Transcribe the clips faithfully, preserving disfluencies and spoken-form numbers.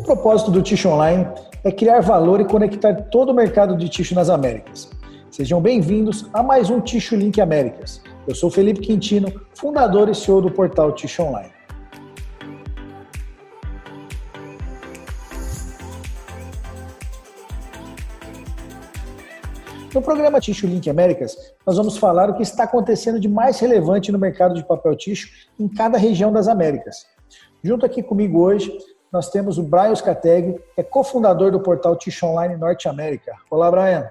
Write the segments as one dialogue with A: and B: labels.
A: propósito do Tissue Online é criar valor e conectar todo o mercado de tissue nas Américas. Sejam bem-vindos a mais um Tissue Link Américas. Eu sou Felipe Quintino, fundador e C E O do portal Tissue Online. No programa Tissue Link Américas, nós vamos falar o que está acontecendo de mais relevante no mercado de papel tissue em cada região das Américas. Junto aqui comigo hoje, nós temos o Brian Scateg, que é cofundador do portal Tissue Online Norte América. Olá, Brian.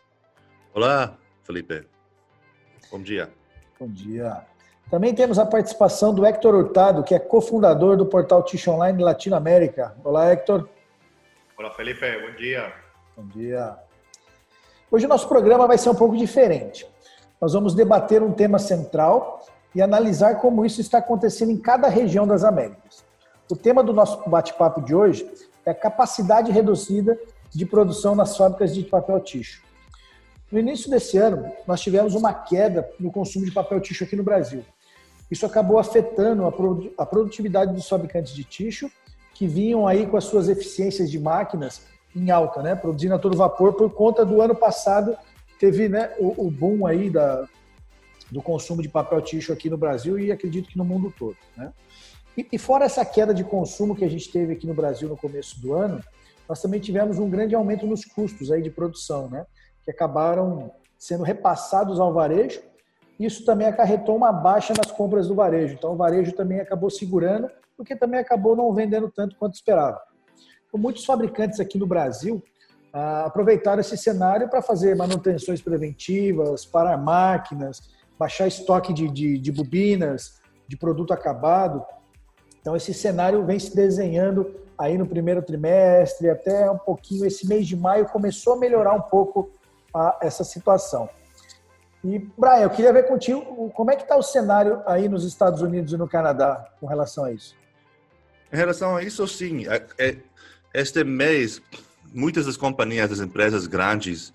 B: Olá, Felipe. Bom dia.
A: Bom dia. Também temos a participação do Héctor Hurtado, que é cofundador do portal Tissue Online Latinoamérica. Olá, Héctor.
C: Olá, Felipe. Bom dia.
A: Bom dia. Hoje o nosso programa vai ser um pouco diferente. Nós vamos debater um tema central e analisar como isso está acontecendo em cada região das Américas. O tema do nosso bate-papo de hoje é a capacidade reduzida de produção nas fábricas de papel tissue. No início desse ano, nós tivemos uma queda no consumo de papel tissue aqui no Brasil. Isso acabou afetando a produtividade dos fabricantes de tissue, que vinham aí com as suas eficiências de máquinas em alta, né, produzindo a todo vapor por conta do ano passado, teve, né, o, o boom aí da, do consumo de papel tissue aqui no Brasil e acredito que no mundo todo, né? E, e fora essa queda de consumo que a gente teve aqui no Brasil no começo do ano, nós também tivemos um grande aumento nos custos aí de produção, né, que acabaram sendo repassados ao varejo. Isso também acarretou uma baixa nas compras do varejo. Então o varejo também acabou segurando, porque também acabou não vendendo tanto quanto esperava. Muitos fabricantes aqui no Brasil ah, aproveitaram esse cenário para fazer manutenções preventivas, parar máquinas, baixar estoque de, de, de bobinas, de produto acabado. Então, esse cenário vem se desenhando aí no primeiro trimestre, até um pouquinho, esse mês de maio começou a melhorar um pouco a, essa situação. E, Brian, eu queria ver contigo como é que está o cenário aí nos Estados Unidos e no Canadá com relação a isso.
B: Em relação a isso, sim. É, é... Este mês, muitas das companhias, das empresas grandes,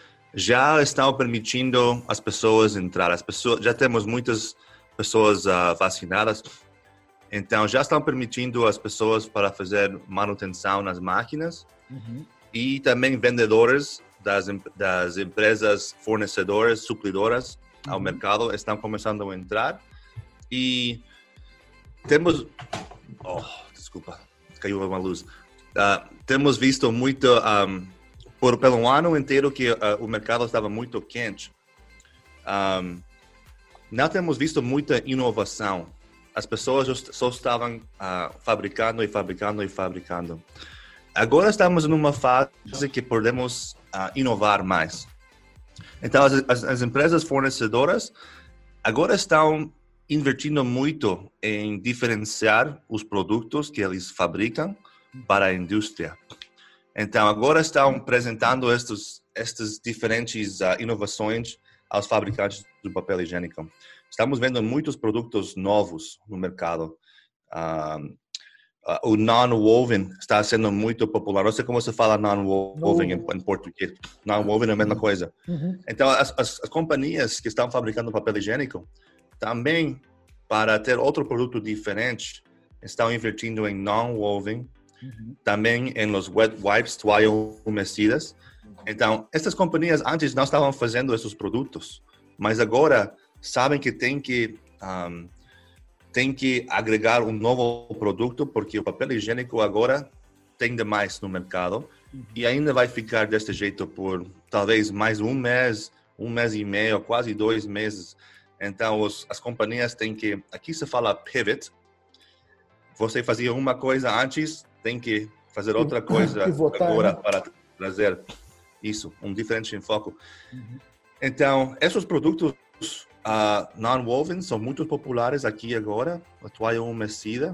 B: já estão permitindo as pessoas entrar. As pessoas, já temos muitas pessoas uh, vacinadas, então já estão permitindo as pessoas para fazer manutenção nas máquinas. Uhum. E também vendedores das, das empresas fornecedoras, supridoras uhum. ao mercado estão começando a entrar. E temos... Oh, desculpa, caiu uma luz. Uh, temos visto muito, um, por, pelo ano inteiro que uh, o mercado estava muito quente. Um, não temos visto muita inovação. As pessoas só estavam uh, fabricando e fabricando e fabricando. Agora estamos numa fase que podemos uh, inovar mais. Então, as, as, as empresas fornecedoras agora estão investindo muito em diferenciar os produtos que eles fabricam para a indústria. Então, agora estão apresentando estes, estas diferentes uh, inovações aos fabricantes do papel higiênico. Estamos vendo muitos produtos novos no mercado. Uh, uh, o non-woven está sendo muito popular. Não sei como se fala non-woven em, em português. Non-woven é a mesma coisa. Uhum. Então, as, as, as companhias que estão fabricando papel higiênico também, para ter outro produto diferente, estão investindo em non-woven. Uhum. Também em los wet wipes, toalhas umedecidas. Então, essas companhias antes não estavam fazendo esses produtos, mas agora sabem que tem que um, tem que agregar um novo produto, porque o papel higiênico agora tem demais no mercado uhum. e ainda vai ficar desse jeito por talvez mais um mês, um mês e meio, quase dois meses. Então, os, as companhias têm que, aqui se fala pivot. Você fazia uma coisa antes, tem que fazer outra coisa Pivotar, agora né? para trazer isso, um diferente enfoque. Uhum. Então, esses produtos uh, non-woven são muito populares aqui agora, a toalha umedecida.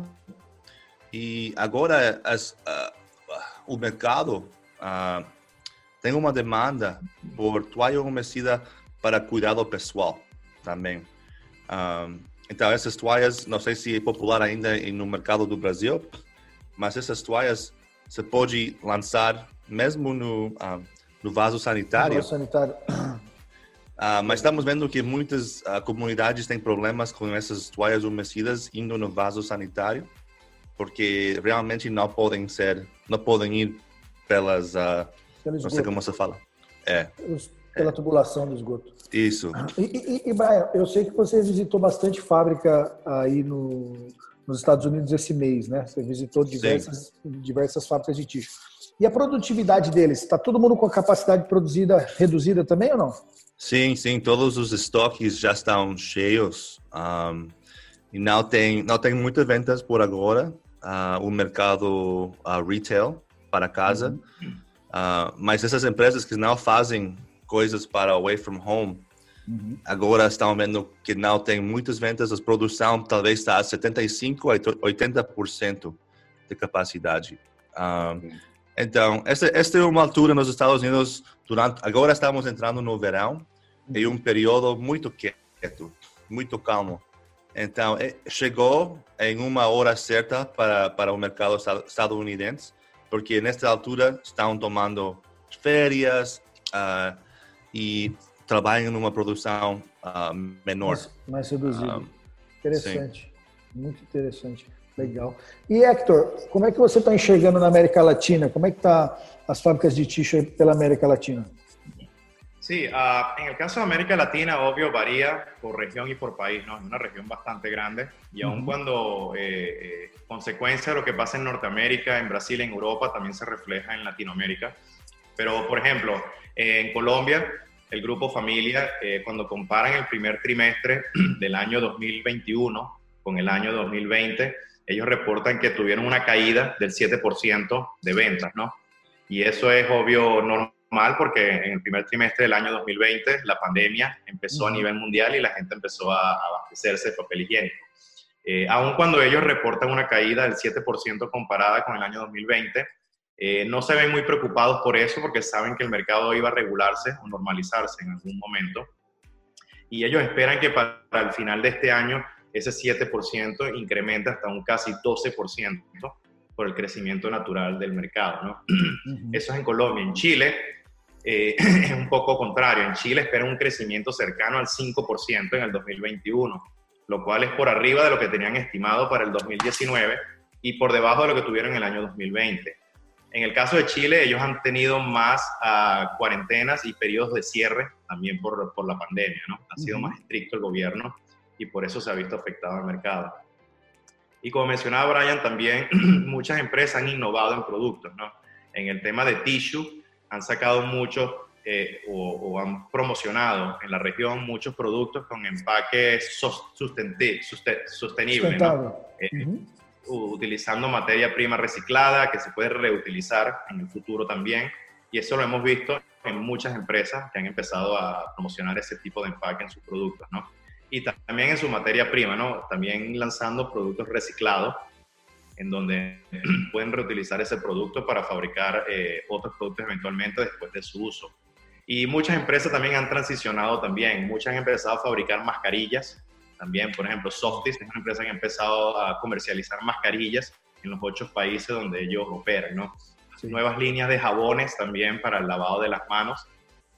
B: E agora as, uh, o mercado uh, tem uma demanda por toalha umedecida para cuidado pessoal também. Um, então, essas toalhas, não sei se é popular ainda no mercado do Brasil, mas essas toalhas você pode lançar mesmo no, uh, no vaso sanitário. No vaso sanitário. Uh, mas estamos vendo que muitas uh, comunidades têm problemas com essas toalhas umedecidas indo no vaso sanitário. porque realmente não podem ser, não podem ir pelas, uh, não sei como se fala. É.
A: Pelos, pela é. tubulação do esgoto.
B: Isso.
A: E, e, e, Brian, eu sei que você visitou bastante fábrica aí no, nos Estados Unidos esse mês, né? Você visitou diversas, diversas fábricas de tixo. E a produtividade deles? Está todo mundo com a capacidade produzida reduzida também ou não?
B: Sim, sim. Todos os estoques já estão cheios. Um, e não tem, não tem muitas vendas por agora. Uh, o mercado uh, retail para casa. Uhum. Uh, mas essas empresas que não fazem coisas para away from home, uhum. agora estão vendo que não tem muitas vendas. A produção talvez está a setenta e cinco por cento a oitenta por cento de capacidade. Um, uhum. Então, esta, esta é uma altura nos Estados Unidos, durante, agora estamos entrando no verão, uhum. em um período muito quieto, muito calmo. Então, chegou em uma hora certa para, para o mercado estadunidense, porque nesta altura estão tomando férias uh, e trabalham numa produção uh, menor.
A: Mais, mais reduzida. Um, interessante, sim. Muito interessante. Legal. E Héctor, como é que você está enxergando na América Latina? Como é que está as fábricas de tixo pela América Latina?
C: Sí, uh, en el caso de América Latina, obvio, varía por región y por país, ¿no? Es una región bastante grande y aun uh-huh. cuando eh, eh, consecuencia de lo que pasa en Norteamérica, en Brasil, en Europa, también se refleja en Latinoamérica. Pero, por ejemplo, eh, en Colombia, el Grupo Familia, eh, cuando comparan el primer trimestre del año dos mil veintiuno con el año dos mil veinte, ellos reportan que tuvieron una caída del siete por ciento de ventas, ¿no? Y eso es obvio normal porque en el primer trimestre del año dos mil veinte la pandemia empezó uh-huh. a nivel mundial y la gente empezó a abastecerse de papel higiénico. Eh, aun cuando ellos reportan una caída del siete por ciento comparada con el año dos mil veinte, eh, no se ven muy preocupados por eso porque saben que el mercado iba a regularse o normalizarse en algún momento. Y ellos esperan que para el final de este año ese siete por ciento incrementa hasta un casi doce por ciento por el crecimiento natural del mercado, ¿no? Uh-huh. Eso es en Colombia. En Chile eh, es un poco contrario. En Chile esperan un crecimiento cercano al cinco por ciento en el dos mil veintiuno, lo cual es por arriba de lo que tenían estimado para el dos mil diecinueve y por debajo de lo que tuvieron en el año dos mil veinte. En el caso de Chile, ellos han tenido más uh, cuarentenas y periodos de cierre también por, por la pandemia, ¿no? Ha sido uh-huh. más estricto el gobierno y por eso se ha visto afectado el mercado. Y como mencionaba Brian, también muchas empresas han innovado en productos, ¿no? En el tema de tissue han sacado muchos eh, o, o han promocionado en la región muchos productos con empaque sustenti- susten- sostenible, ¿no? Eh, uh-huh. utilizando materia prima reciclada que se puede reutilizar en el futuro también. Y eso lo hemos visto en muchas empresas que han empezado a promocionar ese tipo de empaque en sus productos, ¿no? Y también en su materia prima, ¿no? También lanzando productos reciclados en donde pueden reutilizar ese producto para fabricar eh, otros productos eventualmente después de su uso. Y muchas empresas también han transicionado también. Muchas han empezado a fabricar mascarillas. También, por ejemplo, Softis es una empresa que ha empezado a comercializar mascarillas en los ocho países donde ellos operan, ¿no? Sí. Nuevas líneas de jabones también para el lavado de las manos.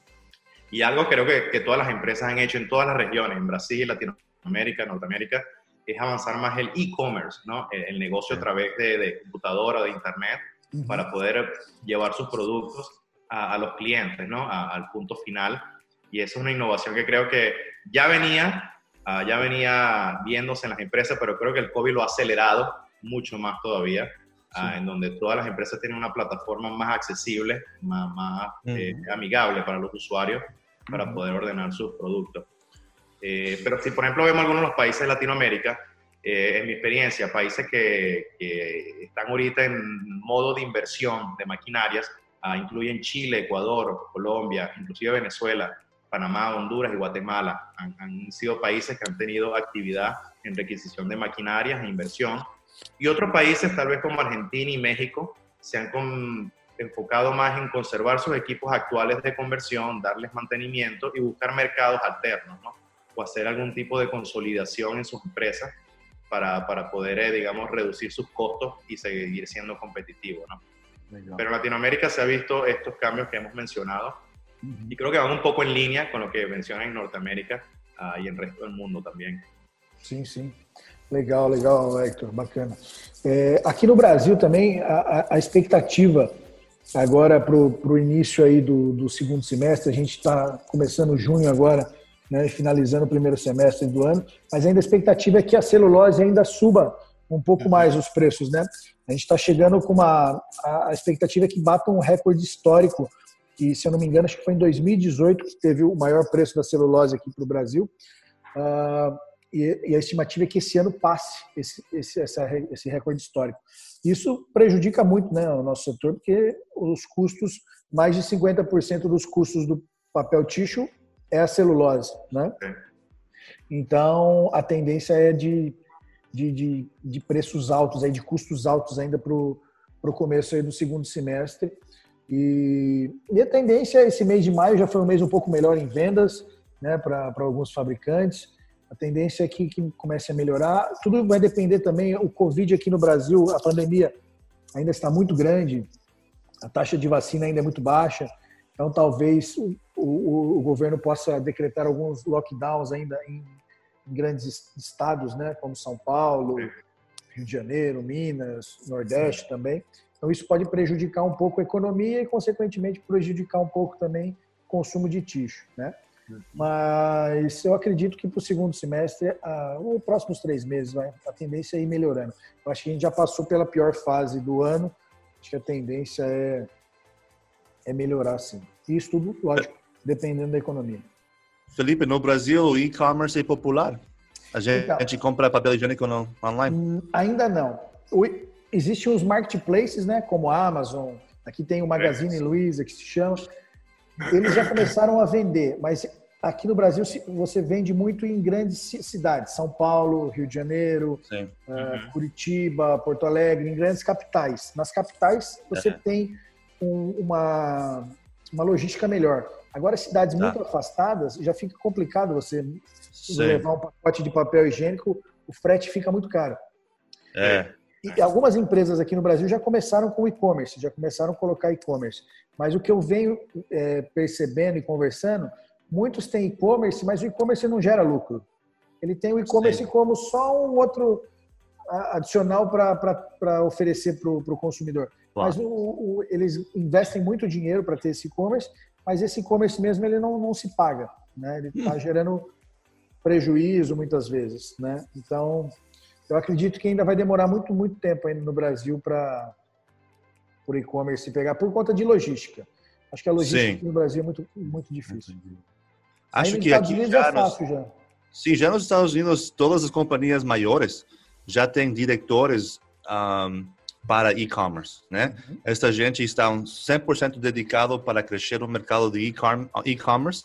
C: Y algo creo que, que todas las empresas han hecho en todas las regiones, en Brasil, Latinoamérica, Norteamérica, es avanzar más el e-commerce, ¿no? El, el negocio a través de, de computadora o de internet uh-huh. para poder llevar sus productos a, a los clientes, ¿no? A, al punto final. Y eso es una innovación que creo que ya venía, uh, ya venía viéndose en las empresas, pero creo que el COVID lo ha acelerado mucho más todavía, sí. uh, en donde todas las empresas tienen una plataforma más accesible, más, más uh-huh. eh, amigable para los usuarios, para uh-huh. poder ordenar sus productos. Eh, pero si, por ejemplo, vemos algunos de los países de Latinoamérica, eh, en mi experiencia, países que, que están ahorita en modo de inversión de maquinarias, uh, incluyen Chile, Ecuador, Colombia, inclusive Venezuela, Panamá, Honduras y Guatemala. Han, han sido países que han tenido actividad en requisición de maquinarias e inversión. Y otros países, tal vez como Argentina y México, se han con, enfocado más en conservar sus equipos actuales de conversión, darles mantenimiento y buscar mercados alternos, ¿no? O hacer algún tipo de consolidación en sus empresas para, para poder, eh, digamos, reducir sus costos y seguir siendo competitivos, ¿no? Pero en Latinoamérica se ha visto estos cambios que hemos mencionado uh-huh. y creo que van un poco en línea con lo que mencionan en Norteamérica uh, y en el resto del mundo también.
A: Sim, sim. Legal, legal, Hector, bacana. É, aqui no Brasil também, a, a expectativa agora para o início aí do, do segundo semestre, a gente está começando junho agora, né, finalizando o primeiro semestre do ano, mas ainda a expectativa é que a celulose ainda suba um pouco mais os preços, né? A gente está chegando com uma... A, a expectativa é que bata um recorde histórico, que, se eu não me engano, acho que foi em dois mil e dezoito que teve o maior preço da celulose aqui para o Brasil. Uh, e, e a estimativa é que esse ano passe esse, esse, essa, esse recorde histórico. Isso prejudica muito, né, o nosso setor, porque os custos, mais de cinquenta por cento dos custos do papel tissue é a celulose, né? Então, a tendência é de, de, de, de preços altos, aí, de custos altos ainda para o começo aí do segundo semestre. E, e a tendência, esse mês de maio já foi um mês um pouco melhor em vendas, né, para alguns fabricantes. A tendência é que, que comece a melhorar. Tudo vai depender também, o Covid aqui no Brasil, a pandemia ainda está muito grande, a taxa de vacina ainda é muito baixa, então talvez o, o, o governo possa decretar alguns lockdowns ainda em, em grandes estados, né, como São Paulo, Rio de Janeiro, Minas, Nordeste Sim. também. Então isso pode prejudicar um pouco a economia e, consequentemente, prejudicar um pouco também o consumo de tixo, né? Mas eu acredito que para o segundo semestre, ah, os próximos três meses, vai, a tendência é ir melhorando. Eu acho que a gente já passou pela pior fase do ano, acho que a tendência é, é melhorar, sim. E isso tudo, lógico, dependendo da economia.
B: Felipe, no Brasil o e-commerce é popular? A gente, então, a gente compra papel higiênico no, online?
A: Ainda não. O, existem os marketplaces, né, como a Amazon, aqui tem o Magazine Luiza, que se chama... Eles já começaram a vender, mas aqui no Brasil você vende muito em grandes cidades, São Paulo, Rio de Janeiro, uhum. uh, Curitiba, Porto Alegre, em grandes capitais. Nas capitais você uhum. tem um, uma, uma logística melhor. Agora, cidades tá. muito afastadas, já fica complicado você Sim. levar um pacote de papel higiênico, o frete fica muito caro.
B: É.
A: E algumas empresas aqui no Brasil já começaram com e-commerce, já começaram a colocar e-commerce. Mas o que eu venho é, percebendo e conversando, muitos têm e-commerce, mas o e-commerce não gera lucro. Ele tem o e-commerce como só um outro adicional para oferecer para o consumidor. Claro. Mas o, o, eles investem muito dinheiro para ter esse e-commerce, mas esse e-commerce mesmo ele não, não se paga, né? Ele está hum. gerando prejuízo muitas vezes, né? Então... Eu acredito que ainda vai demorar muito, muito tempo ainda no Brasil para o e-commerce pegar, por conta de logística. Acho que a logística no Brasil é muito, muito difícil.
B: Acho
A: Aí,
B: que aqui já,
A: é fácil,
B: nos,
A: já.
B: Sim, já nos Estados Unidos, todas as companhias maiores já têm diretores um, para e-commerce, né? Uhum. Esta gente está cem por cento dedicado para crescer o mercado de e-commerce.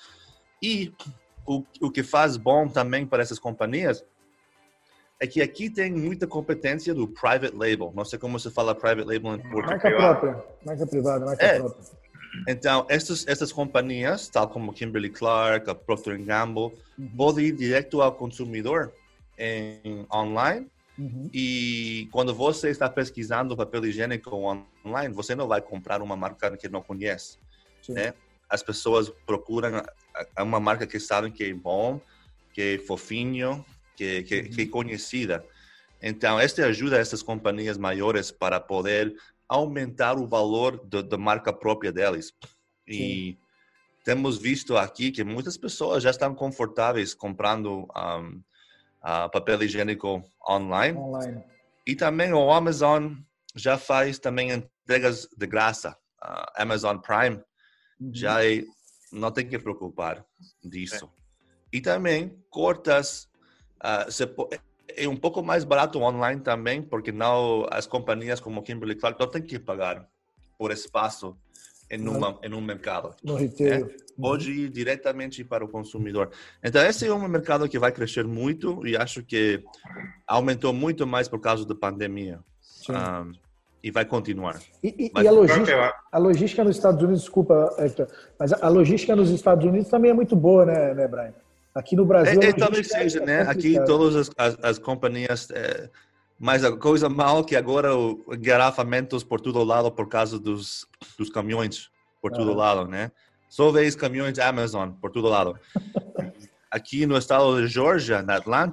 B: E o, o que faz bom também para essas companhias é que aqui tem muita competência do private label. Não sei como se fala private label em português.
A: Marca própria, marca privada, marca é. própria.
B: Então, essas, essas companhias, tal como Kimberly-Clark, a Procter and Gamble, uhum. podem ir direto ao consumidor em online. Uhum. E quando você está pesquisando papel higiênico online, você não vai comprar uma marca que não conhece. Né? As pessoas procuram uma marca que sabem que é bom, que é fofinho, Que, que, que é conhecida. Então, esta ajuda essas companhias maiores para poder aumentar o valor da marca própria deles. E Sim. temos visto aqui que muitas pessoas já estão confortáveis comprando um, uh, papel higiênico online. online. E também o Amazon já faz também entregas de graça. Uh, Amazon Prime uhum. já é, não tem que preocupar disso. É. E também cortas Uh, se, é um pouco mais barato online também, porque não as companhias como Kimberly-Clark não têm que pagar por espaço em, uma, em um mercado.
A: No retail.
B: Né? Pode ir diretamente para o consumidor. Então, esse é um mercado que vai crescer muito e acho que aumentou muito mais por causa da pandemia. Um, e vai continuar.
A: E, e, mas, e a, logística, a logística nos Estados Unidos, desculpa, Hector, mas a logística nos Estados Unidos também é muito boa, né, né Brian? Aqui no Brasil...
B: É, é, talvez seja, é né? Aqui todas as, as, as companhias... É, mas a coisa mal que agora o engarrafamentos por todo lado por causa dos, dos caminhões por todo uhum. lado, né? Só vês caminhões Amazon por todo lado. Aqui no estado de Georgia, na Atlanta,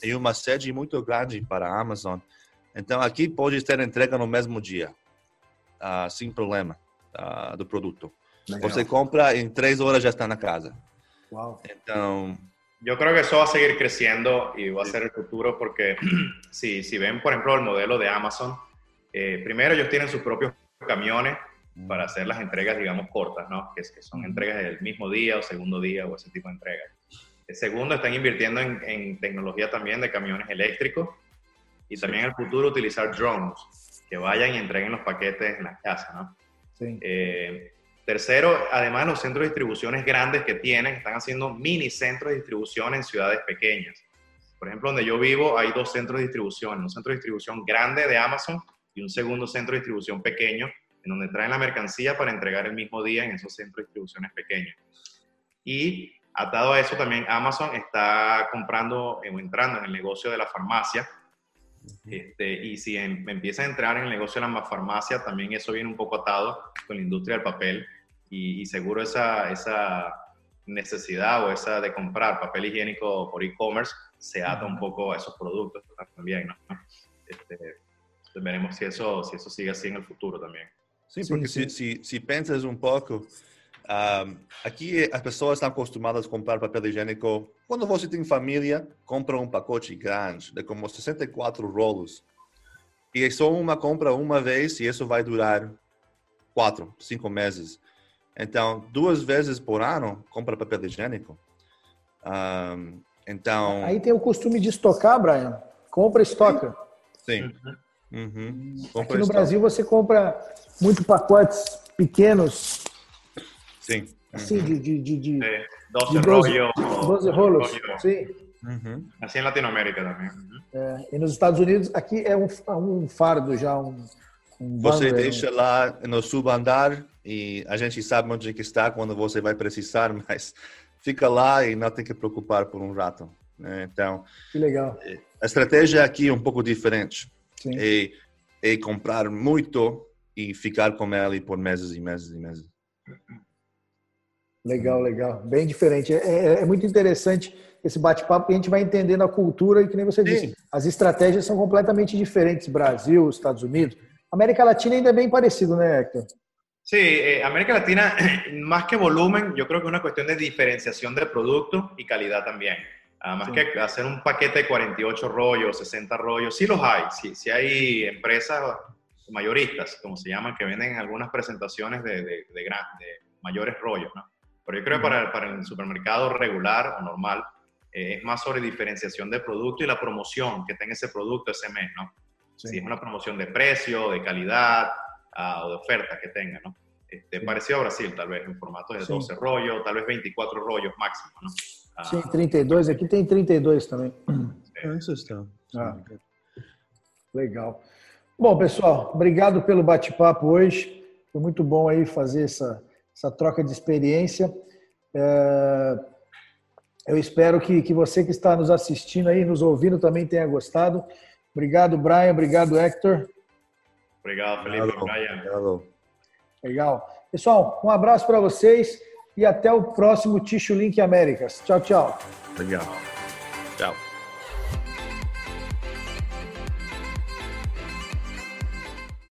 B: e uma sede muito grande para a Amazon. Então, aqui pode ter entrega no mesmo dia, uh, sem problema, uh, do produto. Legal. Você compra, em três horas já está na casa.
A: Wow.
B: Então...
C: Yo creo que eso va a seguir creciendo y va a ser el futuro porque si, si ven, por ejemplo, el modelo de Amazon, eh, primero ellos tienen sus propios camiones para hacer las entregas, digamos, cortas, ¿no? Que, que son entregas del mismo día o segundo día o ese tipo de entregas. El segundo, están invirtiendo en, en tecnología también de camiones eléctricos y también en el futuro utilizar drones que vayan y entreguen los paquetes en las casas, ¿no?
A: Sí.
C: Eh, Tercero, además los centros de distribuciones grandes que tienen, están haciendo mini centros de distribución en ciudades pequeñas. Por ejemplo, donde yo vivo hay dos centros de distribución, un centro de distribución grande de Amazon y un segundo centro de distribución pequeño, en donde traen la mercancía para entregar el mismo día en esos centros de distribuciones pequeños. Y atado a eso también Amazon está comprando o entrando en el negocio de la farmacia. Este, y si en, empieza a entrar en el negocio de la farmacia, también eso viene un poco atado con la industria del papel y, y seguro esa, esa necesidad o esa de comprar papel higiénico por e-commerce se ata un poco a esos productos también, ¿no? Este, veremos si eso, si eso sigue así en el futuro también.
B: Sí, porque sí, sí. Si, si piensas un poco, um, aqui as pessoas estão acostumadas a comprar papel higiênico. Quando você tem família, compra um pacote grande, de como sessenta e quatro rolos. E é só uma compra uma vez e isso vai durar quatro, cinco meses. Então, duas vezes por ano, compra papel higiênico. Um, então...
A: Aí tem o costume de estocar, Brian. Compra e estoca.
B: Sim. Uhum. Compra
A: Aqui no Brasil você compra muito pacotes pequenos.
B: Sim.
A: Assim, de, de, de, de,
C: de doze,
A: de doze, doze rolos. Sim.
C: Uhum. Assim em Latinoamérica também. Uhum.
A: É, e nos Estados Unidos, aqui é um, um fardo já, um, um
B: Você
A: bundle,
B: deixa um... lá no subandar e a gente sabe onde que está quando você vai precisar, mas fica lá e não tem que preocupar por um rato. Né? Então,
A: que legal.
B: A estratégia aqui é um pouco diferente.
A: Sim.
B: É, é comprar muito e ficar com ele por meses e meses e meses.
A: Legal, legal. Bem diferente. É, é, é muito interessante esse bate-papo e a gente vai entendendo a cultura e, que nem você disse, Sim. as estratégias são completamente diferentes. Brasil, Estados Unidos. América Latina ainda é bem parecido, né, Héctor?
C: Sí, eh, América Latina, más que volumen, yo creo que es una cuestión de diferenciación de producto y calidad también. Uh, más sí. que hacer un paquete de cuarenta y ocho rollos, sesenta rollos, sí los hay. Sí, sí hay empresas mayoristas, como se llaman, que venden algunas presentaciones de, de, de, gran, de mayores rollos, ¿no? Pero yo creo que para, para el supermercado regular o normal eh, es más sobre diferenciación de producto y la promoción que tenga ese producto ese mes, ¿no? Sí. Si es una promoción de precio, de calidad uh, o de oferta que tenga, ¿no? Este, sí. Parecido a Brasil, tal vez, en formato de doze sí. rollos, tal vez veinticuatro rollos máximo, ¿no? Uh,
A: Sim, trinta e dois. Aqui tem trinta e dois também.
B: É, isso está.
A: Ah, legal. Bom, pessoal, obrigado pelo bate-papo hoje. Foi muito bom aí fazer essa, essa troca de experiência. É, eu espero que, que você que está nos assistindo aí, nos ouvindo, também tenha gostado. Obrigado, Brian. Obrigado, Héctor.
C: Obrigado, Felipe.
B: Obrigado.
C: Brian.
B: Obrigado.
A: Legal. Pessoal, um abraço para vocês e até o próximo Tissue Link Américas. Tchau, tchau.
B: Legal. Tchau.